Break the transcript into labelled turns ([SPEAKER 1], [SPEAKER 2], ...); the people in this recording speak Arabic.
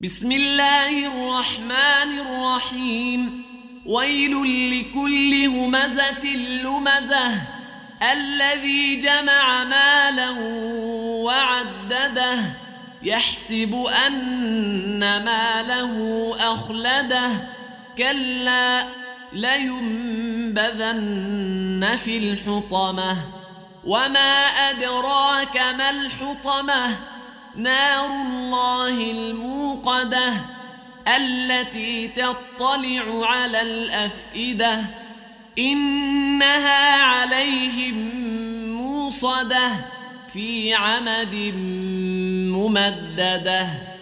[SPEAKER 1] بسم الله الرحمن الرحيم. ويل لكل همزة لمزة الذي جمع مالا وعدده يحسب أن ماله أخلده كلا لينبذن في الحطمة وما أدراك ما الحطمة نار الله الموقدة التي تطلع على الأفئدة إنها عليهم موصدة في عمد ممددة.